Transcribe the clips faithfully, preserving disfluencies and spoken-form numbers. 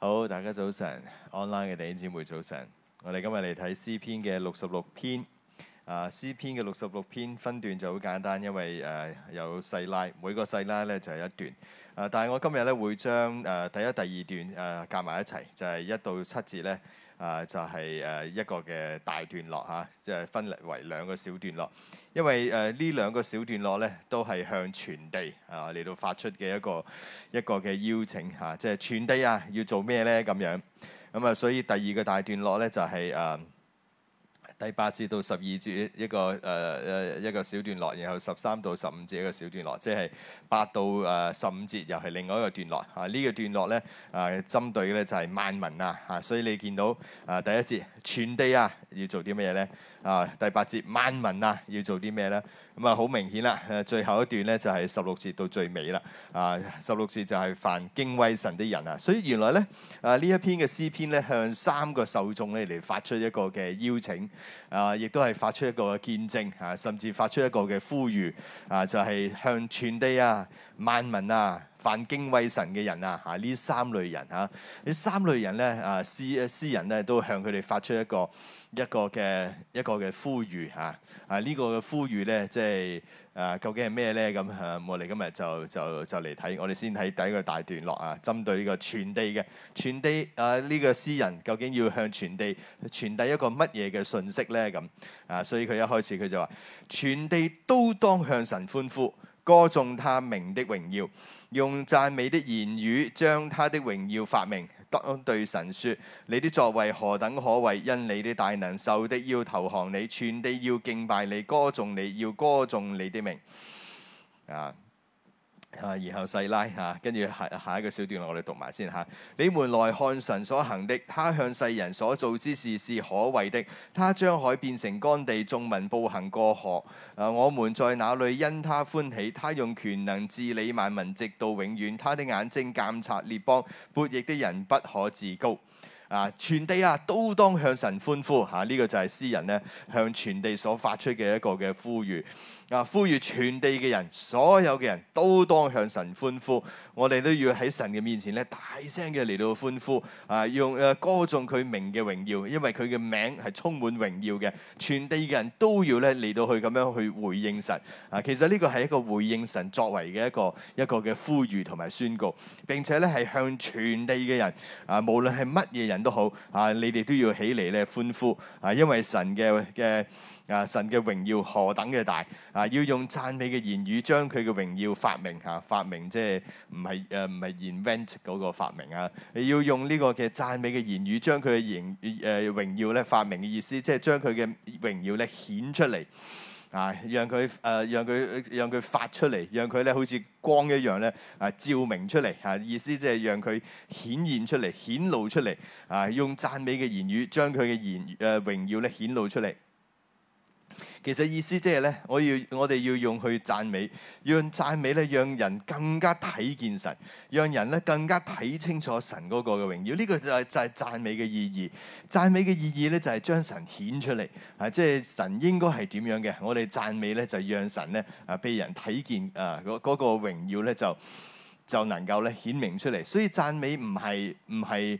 好，大家早晨 ，online 嘅弟兄姊妹早晨。我哋今日嚟睇詩篇嘅六十六篇。啊，詩篇嘅六十六篇分段就好簡單，因為誒、呃、有細拉，每個細拉咧就係、是、一段。啊，但係我今日咧會將誒、呃、第一、第二段誒夾埋一齊，就係、是、一到七節咧。啊，就係、是、誒一個嘅大段落嚇，即、啊、係、就是、分為兩個小段落。因為誒呢、呃、兩個小段落咧，都係向全地啊嚟到發出嘅一個一個嘅邀請嚇、啊，即係全地啊要做咩咧咁樣。咁啊，所以第二個大段落咧就係、是、誒。啊第八節到十二節一個誒誒、呃、一個小段落，然後十三到十五節一個小段落，即係八到誒十五節又係另外一個段落。啊，呢、這個段落咧啊，針對嘅咧就係萬民啊，啊，所以你見到啊第一節全地啊要做啲乜嘢咧？啊，第八節萬民啊要做啲咩咧？咁啊好明顯啦，誒最後一段咧就係十六節到最尾啦。啊，十六節就係凡敬畏神的人啊，所以原來咧啊呢一篇嘅詩篇咧向三個受眾咧嚟發出一個嘅邀請。啊！亦都係發出一個見證啊，甚至發出一個嘅呼籲啊，就係、是、向全地啊、萬民啊、凡敬畏神嘅人啊，啊呢三類人啊，呢三類人咧啊，詩詩人咧都向佢哋發出一個一個嘅一個嘅呼籲啊！啊呢、這個嘅呼籲咧，即係啊，究竟係咩咧？咁啊，我哋今日就就就嚟睇，我哋先睇第一個大段落啊，針對呢個全地嘅全地啊，呢、這個詩人究竟要向全地傳遞一個乜嘢嘅信息咧？咁啊，所以佢一開始佢就話：全地都當向神歡呼，歌頌他名的榮耀，用讚美的言語將他的榮耀發明。當對神說：你的作為何等可畏！因你的大能，受的要投降你，全地要敬拜你，歌頌你，要歌頌你的名。啊！啊，然後細拉嚇，跟住下下一個小段落我哋讀埋先嚇。你們來看神所行的，他向世人所做之事是可畏的。他將海變成乾地，眾民步行過河。啊，我們在那裏因他歡喜。他用權能治理萬民，直到永遠。他的眼睛監察列邦，悖逆的人不可自高。啊！全地啊，都當向神歡呼嚇！呢、啊這個就係詩人咧向全地所發出嘅一個嘅呼籲。啊！呼籲全地嘅人，所有嘅人都當向神歡呼。我哋都要喺神嘅面前咧，大聲嘅嚟到歡呼。啊！用誒歌頌佢名嘅榮耀，因為佢嘅名係充滿榮耀嘅。全地嘅人都要咧嚟到去咁樣去回應神。啊！其實呢個係一個回應神作為嘅一個一個嘅呼籲同埋宣告。並且咧係向全地嘅人啊，無論係乜嘢人都好啊，你哋都要起嚟咧歡呼啊！因為神嘅嘅。啊！神嘅榮耀何等嘅大啊！要用讚美嘅言語將佢嘅榮耀發明嚇、啊，發明即係唔係誒唔係 invent 嗰個發明啊！要用呢個嘅讚美嘅言語將佢嘅榮誒榮耀咧發明嘅意思，即係將佢嘅榮耀咧顯出嚟啊！讓佢誒、呃、讓佢讓佢發出嚟，讓佢咧好似光一樣咧啊照明出嚟啊！意思即係讓佢顯現出嚟、顯露出嚟啊！用讚美嘅言語將佢嘅言誒、呃、榮耀咧顯露出嚟。其實意思即係咧，我要我哋要用去讚美，用讚美咧，讓人更加睇見神，讓人咧更加睇清楚神嗰個嘅榮耀。呢、這個就係就係讚美嘅意義。讚美嘅意義咧就係將神顯出嚟啊！即係神應該係點樣嘅？我哋讚美咧就讓神咧啊被人睇見啊嗰嗰、那個榮耀咧就就能夠咧顯明出嚟。所以讚美唔係唔係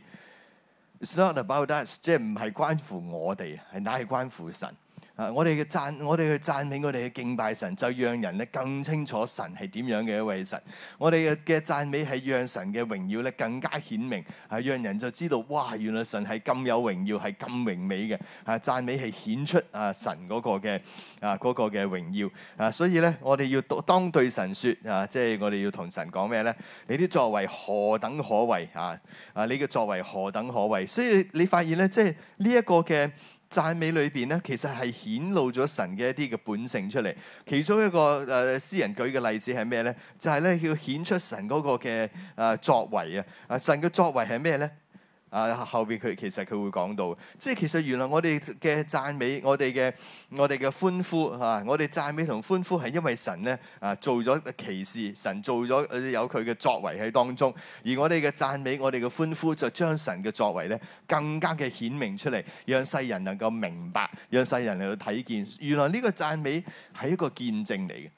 It's not about us， 即係唔係關乎我哋，係乃係關乎神。啊！我哋嘅讚，我哋去讚美，我哋去敬拜神，就讓人咧更清楚神係點樣嘅一位神。我哋嘅嘅讚美係讓神嘅榮耀咧更加顯明，係讓人就知道哇！原來神係咁有榮耀，係咁榮美嘅。啊！讚美係顯出啊神嗰個嘅啊嗰個嘅榮耀啊！所以咧，我哋要當對神説啊，即係我哋要同神講咩咧？你啲作為何等可畏啊！啊！你嘅作為何等可畏？所以你發現咧，即係呢一個嘅。讚美裏邊咧，其實係顯露咗神嘅一啲嘅本性出嚟。其中一個誒詩人舉嘅例子係咩咧？就係咧要顯出神嗰個嘅誒作為啊！啊，神嘅作為係咩咧？啊，後邊佢其實佢會講到，即係其實原來我哋嘅讚美，我哋嘅我哋嘅歡呼啊，我哋讚美同歡呼係因為神咧啊做咗奇事，神做咗有佢嘅作為喺當中，而我哋嘅讚美，我哋嘅歡呼就將神嘅作為咧更加嘅顯明出嚟，讓世人能夠明白，讓世人嚟到睇見，原來呢個讚美係一個見證嚟嘅。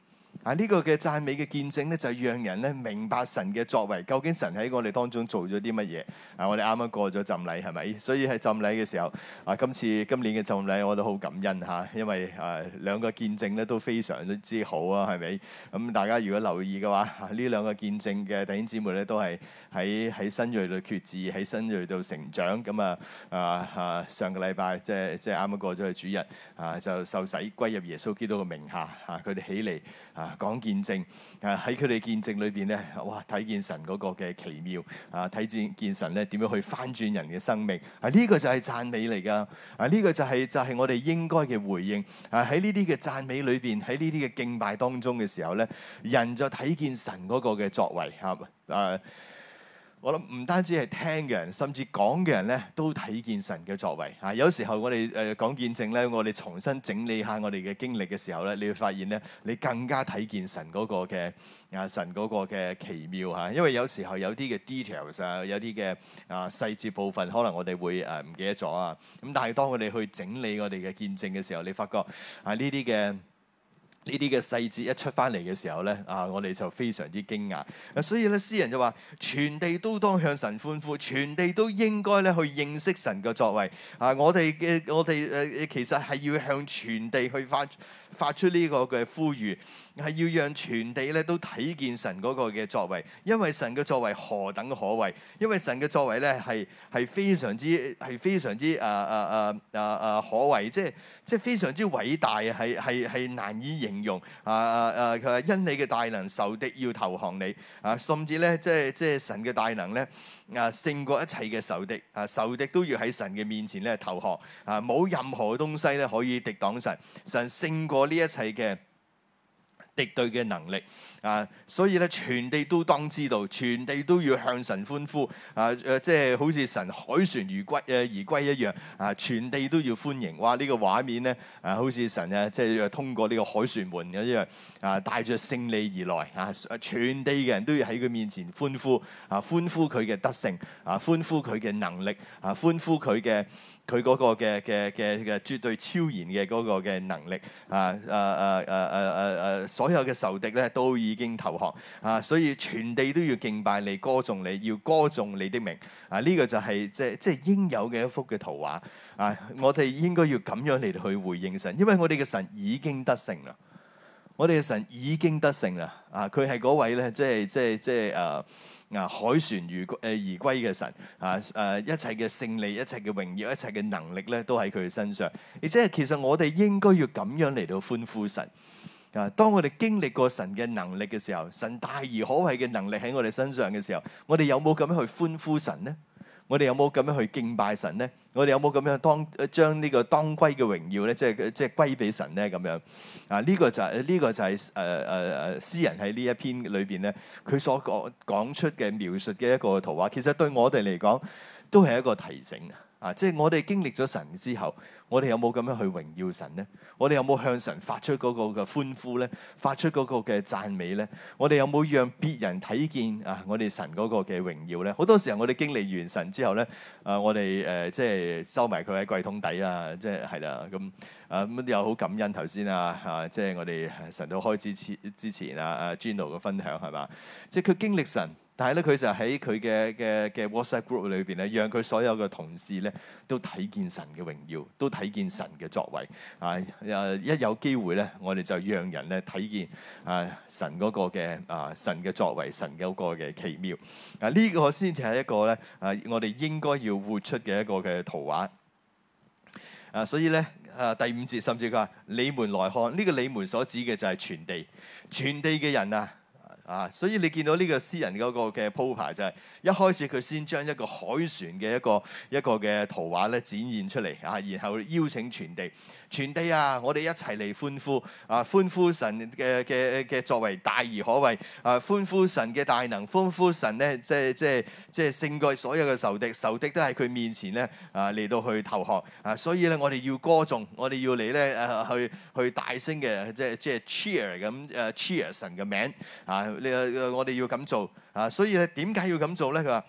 啊！呢、這個嘅讚美嘅見證咧，就係讓人咧明白神嘅作為，究竟神喺我哋當中做咗啲乜嘢。啊！我哋啱啱過咗浸禮係咪？所以喺浸禮嘅時候，啊，今次今年嘅浸禮我都好感恩嚇、啊，因為啊兩個見證咧都非常之好啊，係咪？咁、嗯、大家如果留意嘅話，呢、啊、兩個見證嘅弟兄姊妹咧都係喺喺新銳度決志，喺新銳度成長。咁啊啊啊！上個禮拜即係即係啱啱過咗去主日啊，就受洗歸入耶穌基督嘅名下啊，佢哋起嚟啊講見證啊，喺佢哋見證裏邊咧，哇！睇見神嗰個嘅奇妙啊，睇見見神咧點樣去翻轉人嘅生命啊，呢、這個就係讚美嚟㗎啊，呢、這個就係、是、就係、是、我哋應該嘅回應啊，喺呢啲嘅讚美裏邊，喺呢啲嘅敬拜當中嘅時候咧，人就睇見神嗰個嘅作為嚇啊。我諗唔單止係聽嘅人，甚至講嘅人咧，都睇見神嘅作為啊！有時候我哋誒講見證咧，我哋重新整理下我哋嘅經歷嘅時候咧，你會發現咧，你更加睇見神嗰個嘅啊神嗰個嘅奇妙嚇。因為有時候有啲嘅 details 啊，有啲嘅啊細節部分，可能我哋會誒唔記得咗啊。咁但係當我哋去整理我哋嘅見證嘅時候，你發覺啊呢啲嘅。呢啲嘅細節一出翻嚟嘅時候咧，啊，我哋就非常之驚訝。所以咧，詩人就話：全地都當向神歡呼，全地都應該咧去認識神嘅作為。啊，我哋嘅我哋誒其實係要向全地去發發出呢個嘅呼籲，係要讓全地咧都睇見神嗰個嘅作為，因為神嘅作為何等可畏，因為神嘅作為咧係係非常之係非常之誒誒誒誒誒可畏，即係即係非常之偉大啊！係係係難以形容啊啊啊！佢話因你嘅大能，仇敵要投降你啊，甚至咧即係即係神嘅大能咧啊，勝過一切嘅仇敵啊，仇敵都要喺神嘅面前咧投降啊，冇任何東西咧可以敵擋神，神勝過呢一切嘅敵對嘅能力啊，所以咧全地都當知道，全地都要向神歡呼啊！誒，即係好似神凱旋而歸誒而歸一樣啊！全地都要歡迎，哇！呢、這個畫面咧啊，好似神啊，即係通過呢個凱旋門一樣啊，帶着勝利而來啊！全地嘅人都要喺佢面前歡呼啊，歡呼佢嘅得勝啊，歡呼佢嘅能力啊，歡呼佢嘅。佢嗰個嘅嘅嘅嘅絕對超然嘅嗰個嘅能力啊！誒誒誒誒誒誒，所有嘅仇敵咧都已經投降啊！所以全地都要敬拜你、歌頌你，要歌頌你的名啊！呢、這個就係即係即係應有嘅一幅嘅圖畫啊！我哋應該要咁樣嚟去回應神，因為我哋嘅神已經得勝啦，我哋嘅神已經得勝啦啊！佢係嗰位咧，即係即係即係誒。啊！凱旋如誒而歸嘅神啊！誒一切嘅勝利、一切嘅榮耀、一切嘅能力咧，都喺佢嘅身上。而且其實我哋應該要咁樣嚟到歡呼神啊！當我哋經歷過神嘅能力嘅時候，神大而可畏嘅能力喺我哋身上嘅時候，我哋有冇咁樣去歡呼神呢？我哋有冇咁樣去敬拜神呢？我哋有冇咁樣當將呢個當歸嘅榮耀咧，即係即係歸俾神咧？咁樣啊？呢、這個就係、是、呢、這個就係誒誒誒詩人喺呢一篇裏邊咧，佢所講講出嘅描述嘅一個圖畫，其實對我哋嚟講都係一個提醒啊！即係我哋經歷咗神之後，我哋有冇咁樣去榮耀神呢？我哋有冇向神發出嗰個嘅歡呼咧？發出嗰個嘅讚美咧？我哋有冇讓別人睇見啊？我哋神嗰個嘅榮耀咧？好多時候我哋經歷完神之後咧，啊我哋誒、呃、即係收埋佢喺櫃桶底啊！即係係啦咁啊咁又好感恩頭先啊啊！即係我哋神到開始之之前啊啊 Gino 嘅分享係嘛？即係佢經歷神。但係咧，佢就喺佢嘅嘅嘅 WhatsApp group 裏邊咧，讓佢所有嘅同事咧都睇見神嘅榮耀，都睇見神嘅作為啊！誒一有機會咧，我哋就讓人咧睇見啊神嗰個嘅啊神嘅作為，神嗰個嘅奇妙啊！呢個先至係一個咧啊，我哋應該要活出嘅一個嘅圖畫啊！所以咧啊，第五節甚至佢話：你們來看，呢個你們所指嘅就係全地，全地嘅人啊！啊，所以你見到呢個詩人嗰個嘅鋪排就係、是、一開始佢先將一個凱旋嘅一個一個嘅圖畫咧展現出嚟啊，然後邀請全地，全地啊，我哋一齊嚟歡呼啊，歡呼神嘅嘅嘅作為大而可畏啊，歡呼神嘅大能，歡呼神咧即係即係即係勝過所有嘅仇敵，仇敵都喺佢面前咧啊嚟到去投降啊，所以咧我哋要歌頌，我哋要嚟咧誒去去大聲嘅即係即係 cheer 咁誒 cheer 神嘅名啊！你我哋要咁做啊，所以咧點解要咁做咧？佢話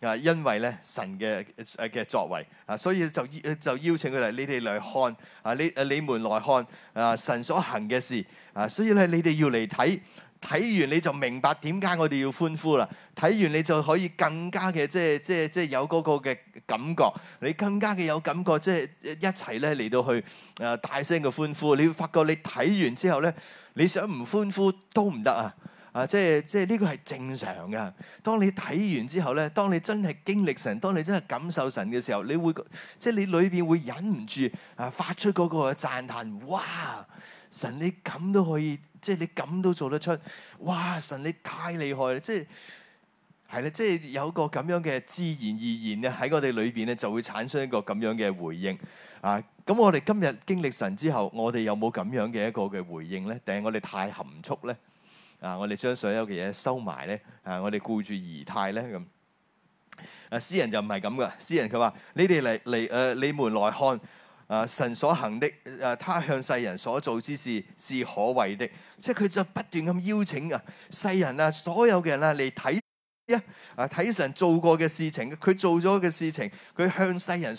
啊，因為咧神嘅誒嘅作為啊，所以就就邀請佢哋，你哋嚟看啊，你誒你們來看啊，神所行嘅事啊，所以咧你哋要嚟睇，睇完你就明白點解我哋要歡呼啦。睇完你就可以更加嘅即係即係即係有嗰個嘅感覺，你更加嘅有感覺，即係一齊咧嚟到去誒大聲嘅歡呼。你會發覺你睇完之後咧，你想唔歡呼都唔得啊！啊，即係即係呢個係正常嘅。當你睇完之後咧，當你真係經歷神，當你真係感受神嘅時候，你會即係你裏邊會忍唔住啊，發出嗰個讚嘆。哇！神你咁都可以，即係你咁都做得出。哇！神你太厲害啦！即係係啦，即係有個咁樣嘅自然而然咧喺我哋裏邊咧，就會產生一個咁樣嘅回應啊。咁我哋今日經歷神之後，我哋有冇咁樣嘅一個嘅回應咧？定係我哋太含蓄咧？啊！我哋將所有嘅嘢收埋咧，啊！我哋顧住儀態咧咁。啊！詩人就唔係咁噶，詩人佢話：你哋嚟嚟誒，你們來看啊！神所行的誒、啊，他向世人所做之事是可畏的。即係佢就不斷咁邀請啊世人啊，所有嘅人啊嚟睇啊睇神做過嘅事情，佢做咗嘅事情，佢向世人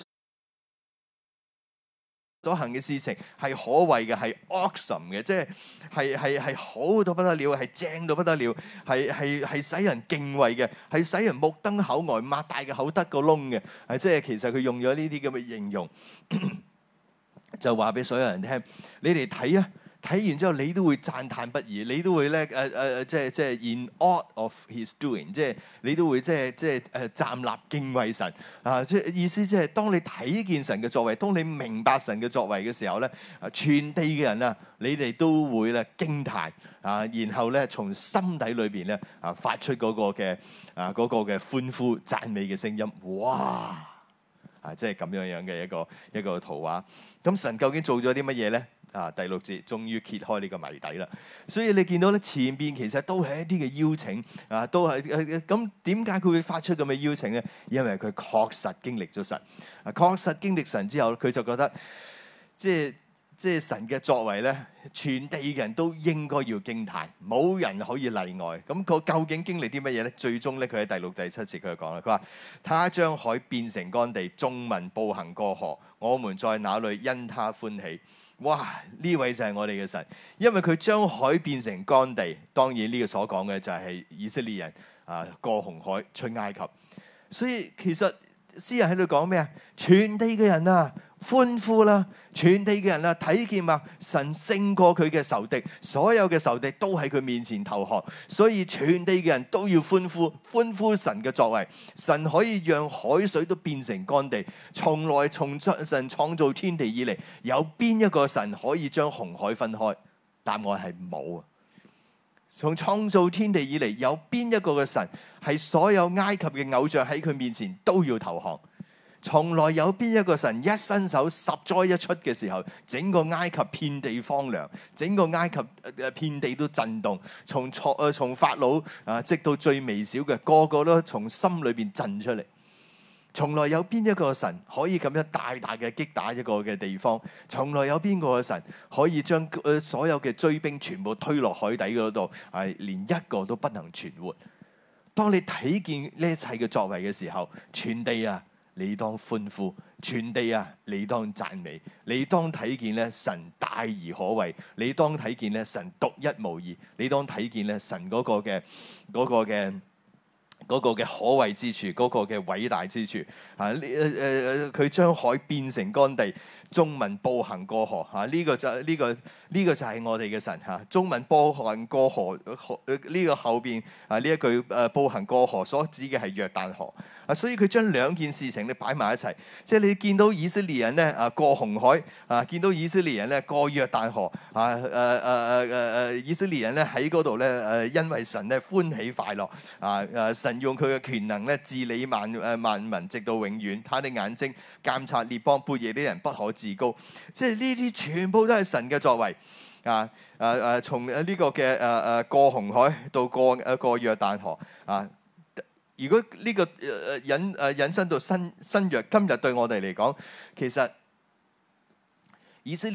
所行嘅事情係可畏嘅，係 awesome 嘅，即係係係係好到不得了，係正到不得了，係係係使人敬畏嘅，係使人目瞪口呆，擘大嘅口得個窿嘅，係即係其實佢用咗呢啲咁嘅形容，就話俾所有人聽，你哋睇啊！睇完之後，你都會讚歎不已，你都會咧誒誒，即係即係 in awe of his doing，即係你都會即係即係誒站立敬畏神啊！即係意思即係當你睇見神嘅作為，當你明白神嘅作為嘅時候咧，全地嘅人啊，你哋都會咧驚歎啊，然後咧從心底裏邊咧啊發出嗰個嘅啊嗰個嘅歡呼讚美嘅聲音，哇！啊，即係咁樣樣嘅一個一個圖畫。咁神究竟做咗啲乜嘢咧？啊，第六節終於揭開呢個謎底啦。所以你見到咧前邊其實都係一啲嘅邀請啊，都係誒咁點解佢會發出咁嘅邀請咧？因為佢確實經歷咗神，啊確實經歷神之後，佢就覺得即係即係神嘅作為咧，全地嘅人都應該要驚歎，冇人可以例外。咁佢究竟經歷啲乜嘢咧？最終咧，佢喺第六、第七節佢就講啦，佢話：他將海變成乾地，眾民步行過河，我們在那裏因他歡喜。哇！呢位就係我哋嘅神，因為佢將海變成乾地。當然呢個所講嘅就係以色列人啊過紅海出埃及。所以其實詩人喺度講咩啊？全地嘅人啊！歡呼啦！全地嘅人啦，睇見嘛，神勝過佢嘅仇敵，所有嘅仇敵都喺佢面前投降，所以全地嘅人都要歡呼，歡呼神嘅作為。神可以讓海水都變成乾地，從來從神創造天地以嚟，有邊一個神可以將紅海分開？答案係冇啊！從創造天地以嚟，有邊一個嘅神係所有埃及嘅偶像喺佢面前都要投降？從來有邊一個神一伸手十災一出嘅時候，整個埃及遍地荒涼，整個埃及誒遍地都震動，從從誒從法老啊，直到最微小嘅個個都從心裏邊震出嚟。從來有邊一個神可以咁樣大大嘅擊打一個嘅地方？從來有邊個嘅神可以將誒所有嘅追兵全部推落海底嗰度，係連一個都不能存活？當你睇見呢一切嘅作為嘅時候，全地啊！你當歡呼，全地啊！你當讚美，你當睇見咧神大而可畏，你當睇見咧神獨一無二，你當睇見咧神嗰個嘅嗰個嘅嗰個嘅可畏之處，嗰個嘅偉大之處啊！呢誒誒佢將海變成乾地，眾民步行過河啊！呢個就呢個呢個就係我哋嘅神嚇。眾民步行過河，呢個後邊啊呢一句誒步行過河所指嘅係約旦河。啊，所以佢將兩件事情咧擺埋一齊，即係你見到以色列人咧啊過紅海啊，見到以色列人咧過約旦河啊，誒誒誒誒誒以色列人咧喺嗰度咧誒，因為神咧歡喜快樂啊誒，神用佢嘅權能咧治理萬誒萬民直到永遠，他的眼睛監察列邦，背逆啲人不可自高，即係呢啲全部都係神嘅作為啊誒誒，從呢個嘅誒誒過紅海到過誒過約旦河啊。如果呢個誒引誒引申到新新約，今日對我哋嚟講，其實以色列人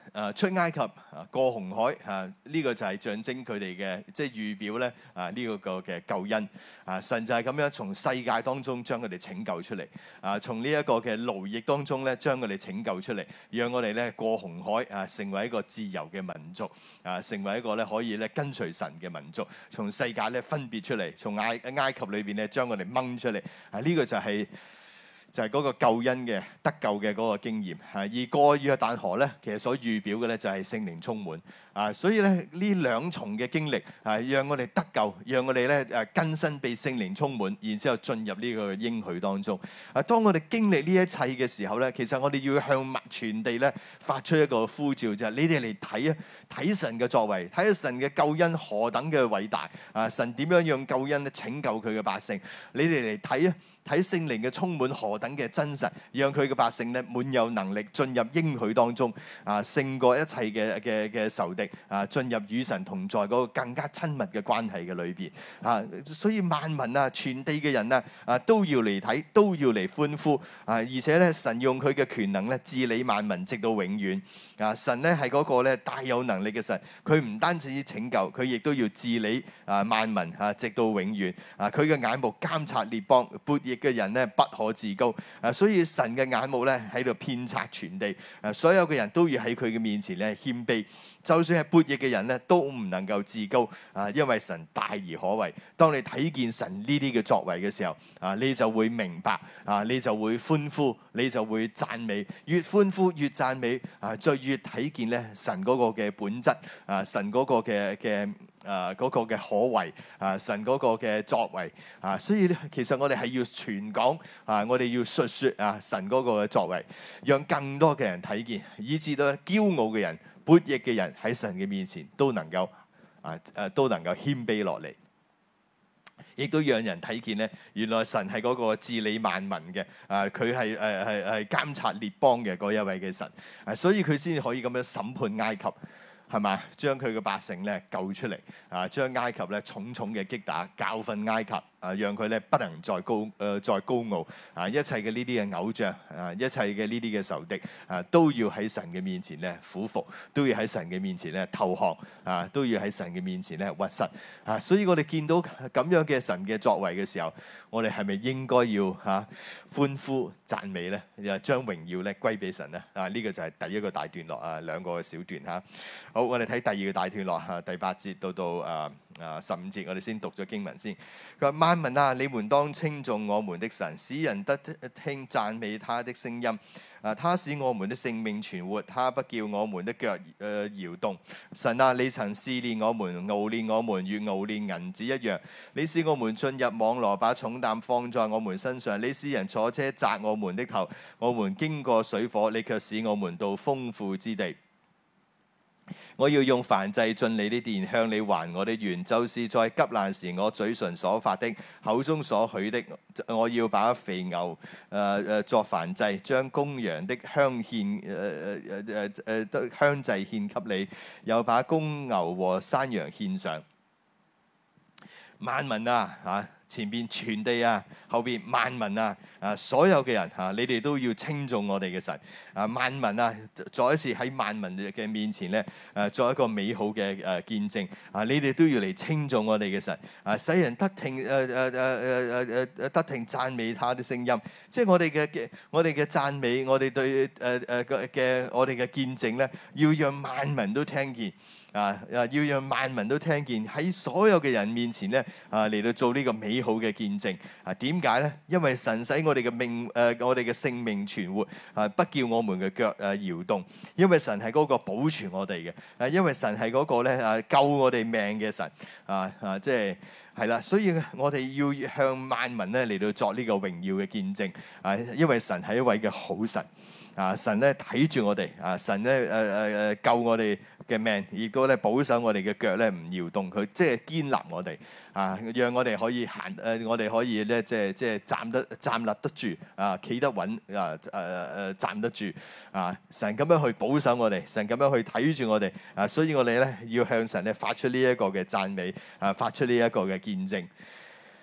誒出埃及啊，過紅海啊，呢、這個就係象徵佢哋嘅，即係預表咧啊呢個個嘅救恩啊，神就係咁樣從世界當中將佢哋拯救出嚟啊，從呢一個嘅奴役當中咧將佢哋拯救出嚟，讓我哋咧過紅海啊，成為一個自由嘅民族啊，成為一個咧可以咧跟隨神嘅民族，從世界咧分別出嚟，從埃埃及裏邊咧將我哋掹出嚟啊，呢、這個就係、是。就係嗰個救恩嘅得救嘅嗰個經驗，而過約旦河咧，其實所預表嘅咧就係聖靈充滿啊，所以咧呢兩重嘅經歷啊，讓我哋得救，讓我哋咧誒更新被聖靈充滿，然之後進入呢個應許當中。啊，當我哋經歷呢一切嘅時候咧，其實我哋要向全地咧發出一個呼召，就係你哋嚟睇啊，睇神嘅作為，睇下神嘅救恩何等嘅偉大啊！神點樣用救恩咧拯救佢嘅百姓？你哋嚟睇啊！睇聖靈嘅充滿何等嘅真實，讓佢嘅百姓咧滿有能力進入應許當中啊，勝過一切嘅嘅嘅仇敵啊，進入與神同在嗰個更加親密嘅關係嘅裏邊啊，所以萬民啊，全地嘅人啊啊都要嚟睇，都要嚟歡呼啊！而且咧，神用佢嘅權能咧治理萬民，直到永遠啊！神咧係嗰個咧大有能力嘅神，佢唔單止拯救，佢亦都要治理啊萬民啊，直到永遠啊！佢嘅眼目監察列邦，悖逆嘅人咧不可自高啊！所以神嘅眼目咧喺度遍察全地啊！所有嘅人都要喺佢嘅面前咧謙卑，就算係悖逆嘅人咧都唔能夠自高啊！因為神大而可畏。當你睇見神呢啲嘅作為嘅時候啊，你就會明白啊，你就會歡呼，你就會讚美，越歡呼越讚美啊，再越睇見咧神嗰個嘅本質啊，神嗰個嘅嘅。啊嗰、那個嘅可為啊，神嗰個嘅作為啊，所以咧其實我哋係要傳講啊，我哋要述説啊神嗰個嘅作為，讓更多嘅人睇見，以至到驕傲嘅人、悖逆嘅人喺神嘅面前都能夠啊誒都能夠謙卑落嚟，亦都讓人睇見咧，原來神係嗰個治理萬民嘅啊，佢係誒係係監察列邦嘅嗰一位嘅神啊，所以佢先至可以咁樣審判埃及。係嘛？將佢嘅百姓咧救出嚟啊！將埃及咧重重嘅擊打，教訓埃及啊！讓佢咧不能再高誒、呃、再高傲啊！一切嘅呢啲嘅偶像啊，一切嘅呢啲嘅仇敵啊，都要喺神嘅面前咧俯服，都要喺神嘅面前咧投降啊！都要喺神嘅面前咧屈膝啊！所以我哋見到咁樣嘅神嘅作為嘅時候，我哋係咪應該要嚇、啊、歡呼讚美咧？又將榮耀咧歸俾神咧？啊！呢、這個就係第一個大段落啊，兩個小段嚇。好，我哋睇第二個大段落嚇，第八節到到啊啊十五節，我哋先讀咗經文先。佢話：萬民啊，你們當稱頌我們的神，使人得聽讚美他的聲音。啊，他使我們的性命存活，他不叫我們的腳誒、呃、搖動。神啊，你曾試煉我們，熬煉我們，如熬煉銀子一樣。你使我們進入網羅，把重擔放在我們身上。你使人坐車砸我們的頭，我們經過水火，你卻使我們到豐富之地。我要用燔祭進你的殿，向你還我的願，就是在急難時我嘴唇所發的，口中所許的。我要把肥牛誒誒、呃、作燔祭，將公羊的香獻誒誒誒誒誒香祭獻給你，又把公牛和山羊獻上。萬民啊嚇！前邊全地啊，後邊萬民啊，啊所有嘅人啊，你哋都要稱頌我哋嘅神啊！萬民啊，再一次喺萬民嘅面前咧，誒作一個美好嘅誒見證啊！你哋都要嚟稱頌我哋嘅神啊！使人得聽誒誒誒誒誒誒誒得聽讚美他的聲音，即係我哋嘅嘅我哋嘅讚美，我哋對誒誒嘅嘅我哋嘅見證咧，要讓萬民都聽見。啊！啊！要讓萬民都聽見，喺所有嘅人面前咧，啊嚟到做呢個美好嘅見證。啊，點解咧？因為神使我哋嘅命誒、呃，我哋嘅性命存活，啊，不叫我們嘅腳誒搖動。因為神係嗰個保存我哋嘅，啊，因為神係嗰個咧啊救我哋命嘅神。啊啊，即係係啦，所以我哋要向萬民咧嚟到作呢個榮耀嘅見證。啊，因為神係一位嘅好神。啊！神咧睇住我哋，啊！神咧誒誒誒救我哋嘅命，亦都咧保守我哋嘅腳咧唔搖動，佢即係堅立我哋，啊！讓我哋可以行誒、呃，我哋可以咧即係即係站得站立得住，啊！企得穩，啊誒誒、呃、站得住，啊！神咁樣去保守我哋，神咁樣去睇住我哋，啊！所以我哋咧要向神咧發出呢一個嘅讚美，啊！發出呢一個嘅見證。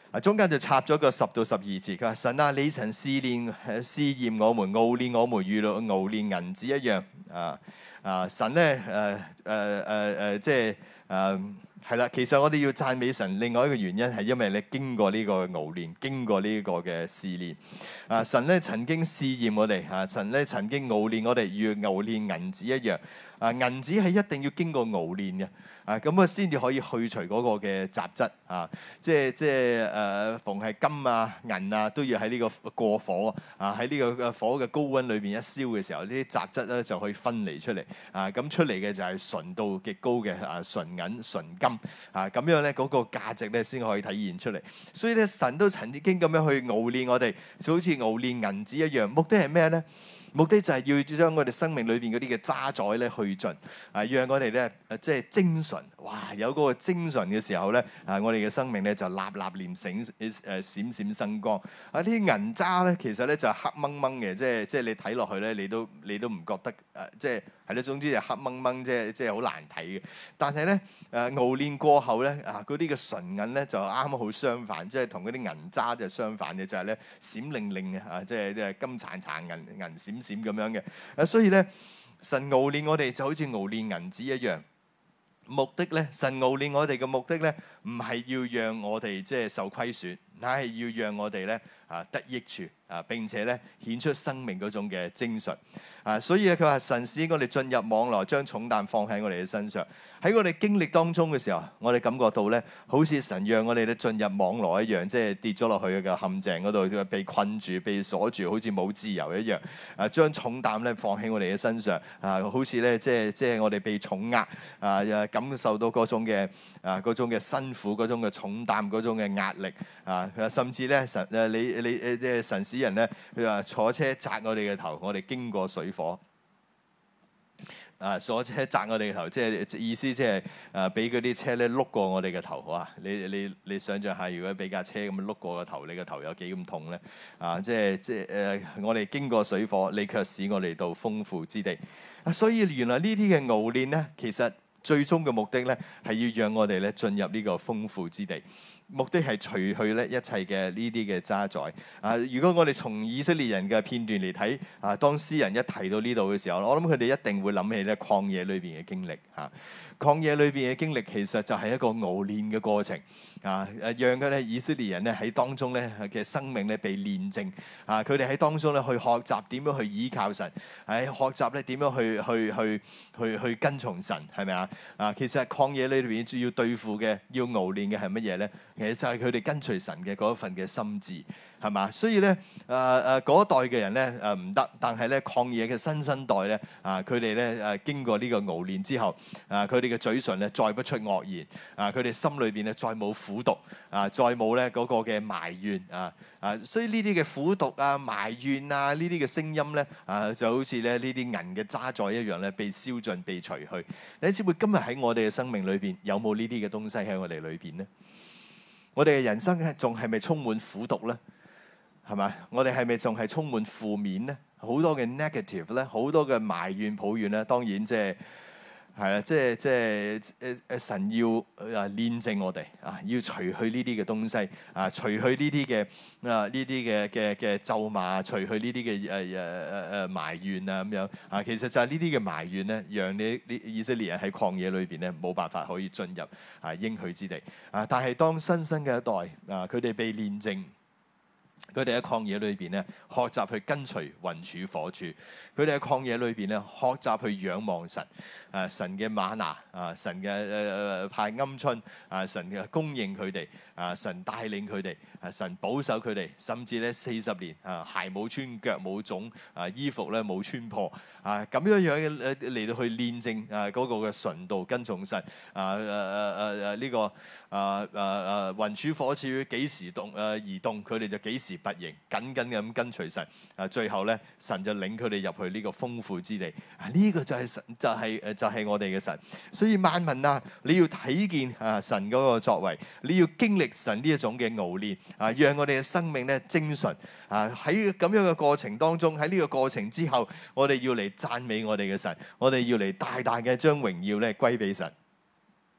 啊，中間就插咗個十到十二節，佢話神啊，你曾試驗試驗我們，熬煉我們，如熬煉銀子一樣。啊啊，神咧誒誒誒誒，即係誒係啦。其實我哋要讚美神，另外一個原因係因為你經過呢個熬煉，經過呢個嘅試煉。啊，神咧曾經試驗我哋，啊，神咧曾經熬煉我哋，如熬煉銀子一樣。啊，銀子係一定要經過熬煉嘅。啊，咁啊先至可以去除嗰個嘅雜質啊，即係即係誒，逢係金啊、銀啊，都要喺呢個過火啊，喺呢個火嘅高溫裏邊一燒嘅時候，呢啲雜質咧就可以分離出嚟啊，咁出嚟嘅就係純度極高嘅啊純銀、純金啊，咁樣咧嗰個價值咧先可以體現出嚟。所以咧，神都曾經咁樣去熬煉我哋，就好似熬煉銀子一樣。目的係咩咧？目的就係要將我哋生命裏邊嗰啲嘅渣滓咧去盡，啊，讓我哋咧誒即係精純，哇！有嗰個精純嘅時候咧，啊，我哋嘅生命咧就立立連醒誒閃閃生光。啊，呢啲銀渣咧其實咧就係黑掹掹嘅，即係即係你睇落去咧，你都你都唔覺得誒，即係係咯，總之就黑掹掹，即係即係好難睇嘅。但係咧誒熬煉過後咧，啊嗰啲嘅純銀咧就啱啱好相反，即係同嗰啲銀渣就相反嘅，就係咧閃靈靈嘅啊，即係即係金燦燦銀銀閃閃咁樣嘅。啊，所以咧神熬煉我哋就好似熬煉銀子一樣。目的咧，神熬煉我哋嘅目的咧，唔係要讓我哋即係受虧損，乃係要讓我哋咧啊得益處啊，並且咧顯出生命嗰種嘅精純啊。所以咧，佢話神使我哋進入網羅，將重擔放喺我哋嘅身上。喺我哋經歷當中嘅時候，我哋感覺到咧，好似神讓我哋咧進入網羅一樣，即係跌咗落去嘅陷阱嗰度，被困住、被鎖住，好似冇自由一樣。啊，將重擔咧放喺我哋嘅身上啊，好似咧即係即係我哋被重壓啊，感受到嗰種嘅啊嗰種嘅辛苦、嗰種嘅重擔、嗰種嘅壓力啊，甚至咧神誒你你誒即係神使人咧，佢話坐車砸我哋嘅頭，我哋經過水火。啊！坐車砸我哋嘅頭，即係意思即係誒，俾嗰啲車咧碌過我哋嘅頭，哇！你你你想象下，如果俾架車咁碌過個頭，你個頭有幾咁痛咧？啊！即係即係誒、呃，我哋經過水火，你卻使我哋到豐富之地。啊！所以原來呢啲嘅熬煉咧，其實最終嘅目的咧，係要讓我哋咧進入呢個豐富之地。目的係除去咧一切嘅呢啲嘅渣滓啊！如果我哋從以色列人嘅片段嚟睇啊，當詩人一提到呢度嘅時候，我諗佢哋一定會諗起咧曠野裏邊嘅經歷嚇。曠野裏邊嘅經歷其實就係一個熬煉嘅過程啊！誒，讓佢咧以色列人咧喺當中咧嘅生命咧被煉淨啊！佢哋喺當中咧去學習點樣去依靠神，喺學習咧點樣去去去去去跟從神，係咪啊？啊，其實曠野裏邊主要對付嘅要熬煉嘅係乜嘢咧？其實就係佢哋跟隨神嘅嗰一份嘅心志，係嘛？所以咧，誒誒嗰一代嘅人咧誒唔得，但係咧曠野嘅新生代咧啊，佢哋咧誒經過呢個熬煉之後啊，佢哋嘅嘴唇咧再不出惡言啊，佢哋心裏邊咧再冇苦毒啊，再冇咧嗰個嘅埋怨啊啊，所以呢啲嘅苦毒啊、埋怨啊呢啲嘅聲音咧啊，就好似咧呢啲銀嘅渣滓一樣咧，被燒盡、被除去。你知唔知今日喺我哋嘅生命裏邊有冇呢啲嘅東西喺我哋裏邊咧？我哋嘅人生係仲係咪充滿苦毒咧？係咪？我哋係咪仲係充滿負面咧？好多嘅 negative 咧，好多嘅埋怨抱怨咧。當然即係係啦，即係即係誒誒神要啊煉淨我哋啊，要除去呢啲嘅東西啊，除去呢啲嘅啊呢啲嘅嘅嘅咒罵，除去呢啲嘅誒誒誒誒埋怨啊咁樣啊。其實就係呢啲嘅埋怨咧，讓你啲以色列人喺曠野裏邊咧冇辦法可以進入啊應許之地啊。但係當新生嘅一代啊，佢哋被煉淨。佢哋喺曠野裏邊咧，學習去跟隨雲柱火柱；佢哋喺曠野裏邊咧，學習去仰望神。啊，神嘅嗎哪啊，神嘅誒誒派鵪鶉啊，神嘅供應佢哋啊，神帶領佢哋啊，神保守佢哋，甚至咧四十年啊，鞋冇穿，腳冇腫啊，衣服咧冇穿破啊，咁樣樣嘅嚟到去煉淨啊嗰個嘅純度跟從神啊誒誒誒誒呢個啊誒誒雲柱火柱幾時動誒而動，佢哋就幾時拔營，緊緊咁跟隨神啊，最後咧神就領佢哋入去呢個豐富之地啊，呢個就係神就係誒就係我哋嘅神。所以萬民啊，你要睇見啊神嗰個作為，你要經歷神呢一種嘅熬煉啊，讓我哋嘅生命咧精純啊。喺咁樣嘅過程當中，喺呢個過程之後，我哋要嚟讚美我哋嘅神，我哋要嚟大大嘅將榮耀咧歸俾神。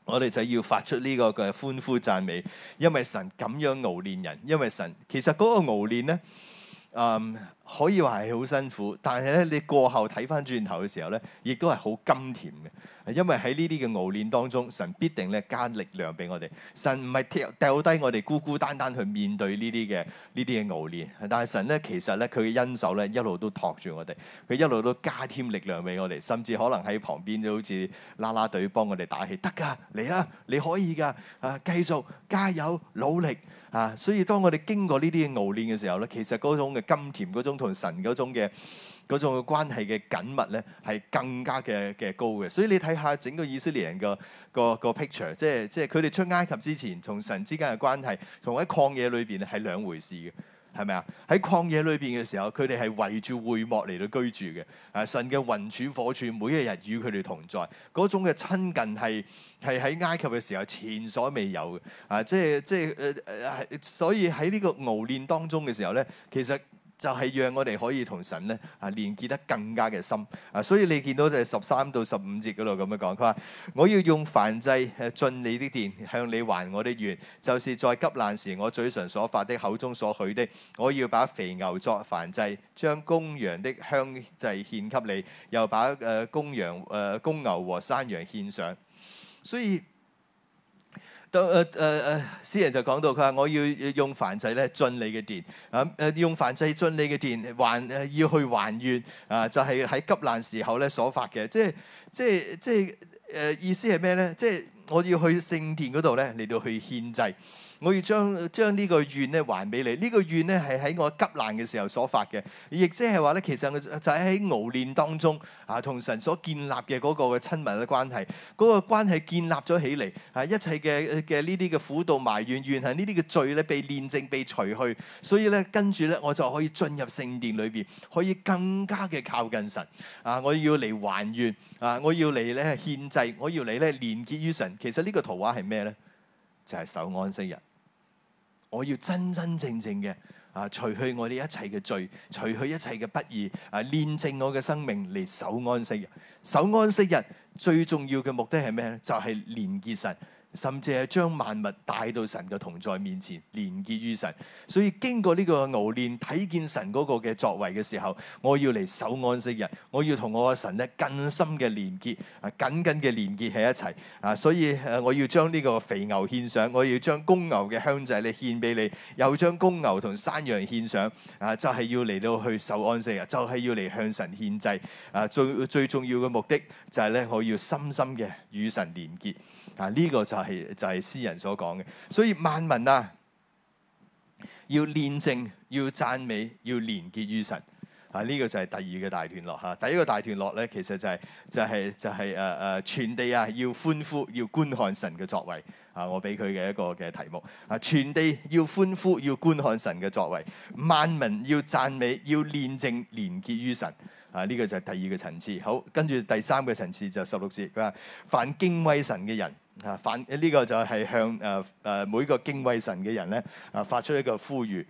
我哋就要發出呢個嘅歡呼讚美，因為神咁樣熬練人，因為神其實嗰個熬練咧，嗯，可以話係好辛苦，但係咧你過後睇翻轉頭嘅時候咧，亦都係好甘甜嘅。因為喺呢啲嘅熬練當中，神必定咧加力量俾我哋。神唔係掉掉低我哋孤孤單單去面對呢啲嘅呢啲嘅熬練，但係神咧其實咧佢嘅恩手咧一路都托住我哋，佢一路都加添力量俾我哋，甚至可能喺旁邊都好似啦啦隊幫我哋打氣，得㗎，嚟啦，你可以㗎，啊，繼續加油努力啊！所以當我哋經過呢啲嘅熬練嘅時候咧，其實嗰種嘅甘甜，嗰種同神嗰種嘅嗰種嘅關係嘅緊密咧，係更加嘅嘅高嘅。所以你睇下整個以色列人個個個 picture，即係即係佢哋出埃及之前，同神之間嘅關係，同喺曠野裏邊係兩回事嘅，係咪啊？喺曠野裏邊嘅時候，佢哋係圍住會幕嚟到居住嘅。啊，神嘅雲柱火柱每一日與佢哋同在，嗰種嘅親近係係喺埃及嘅時候前所未有嘅。啊，即係即係誒誒，所以喺呢個熬練當中嘅時候咧，其實就係讓我哋可以同神咧啊連結得更加嘅深啊，所以你見到就係十三到十五節嗰度咁樣講，佢話：我要用燔祭誒進你的殿，向你還我的願，就是在急難時我嘴唇所發的，口中所許的。我要把肥牛作燔祭，將公羊的香祭獻給你，又把誒公羊誒公牛和山羊獻上。所以到誒誒誒，詩人就講到佢話：我要用燔祭咧進你嘅殿，啊誒用燔祭進你嘅殿，還誒要去還願啊！就係、是、喺急難時候咧所發嘅，即係即係即係誒、呃、意思係咩咧？即係我要去聖殿嗰度咧嚟到去獻祭。我要將將呢個願咧還俾你，呢、這個願咧係喺我急難嘅時候所發嘅，亦即係話咧，其實就係喺熬練當中啊，同神所建立嘅嗰個嘅親密嘅關係，嗰、那個關係建立咗起嚟，啊一切嘅嘅呢啲嘅苦毒埋怨怨恨呢啲嘅罪咧被煉淨被除去，所以咧跟住咧我就可以進入聖殿裏邊，可以更加嘅靠近神啊！我要嚟還願啊！我要嚟咧獻祭，我要嚟咧連結於神。其實呢個圖畫係咩咧？就係、是、守安息日。我要真真正正嘅啊，除去我哋一切嘅罪，除去一切嘅不義，啊，煉淨我嘅生命嚟守安息日。守安息日最重要嘅目的係咩咧？就係、是、連結神。甚至係將萬物帶到神嘅同在面前，連結於神。所以經過呢個熬練，睇見神嗰個嘅作為嘅時候，我要嚟守安息日，我要同我嘅神咧更深嘅連結，啊緊緊嘅連結喺一齊。啊，所以誒，我要將呢個肥牛獻上，我要將公牛嘅香祭咧獻俾你，又將公牛同山羊獻上。啊，就係、是、要嚟到去守安息日，就係、是、要嚟向神獻祭。啊，最最重要嘅目的就係咧，我要深深嘅與神連結。啊！呢、這個就係、是、就係、是、詩人所講嘅，所以萬民啊，要煉淨，要讚美，要連結於神。啊！呢、這個就係第二個大段落嚇。第一個大段落咧，其實就係、是、就係、是、就係誒誒，全地啊要歡呼，要觀看神嘅作為。啊！我俾佢嘅一個嘅題目啊，全地要歡呼，要觀看神嘅作為，萬民要讚美，要煉淨，連結於神。啊！呢、這個就係第二個層次。好，跟住第三個層次就十六節，佢話：凡敬畏神嘅人。啊！反呢、這個就係向誒誒、呃、每個敬畏神嘅人咧啊發出一個呼籲。